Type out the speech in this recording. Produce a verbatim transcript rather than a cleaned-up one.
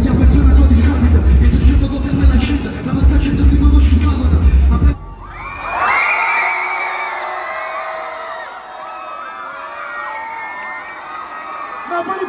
Vogliamo essere una tua discapita, e tu scelto con te la scelta, la basta cento che non schifavano. Napoli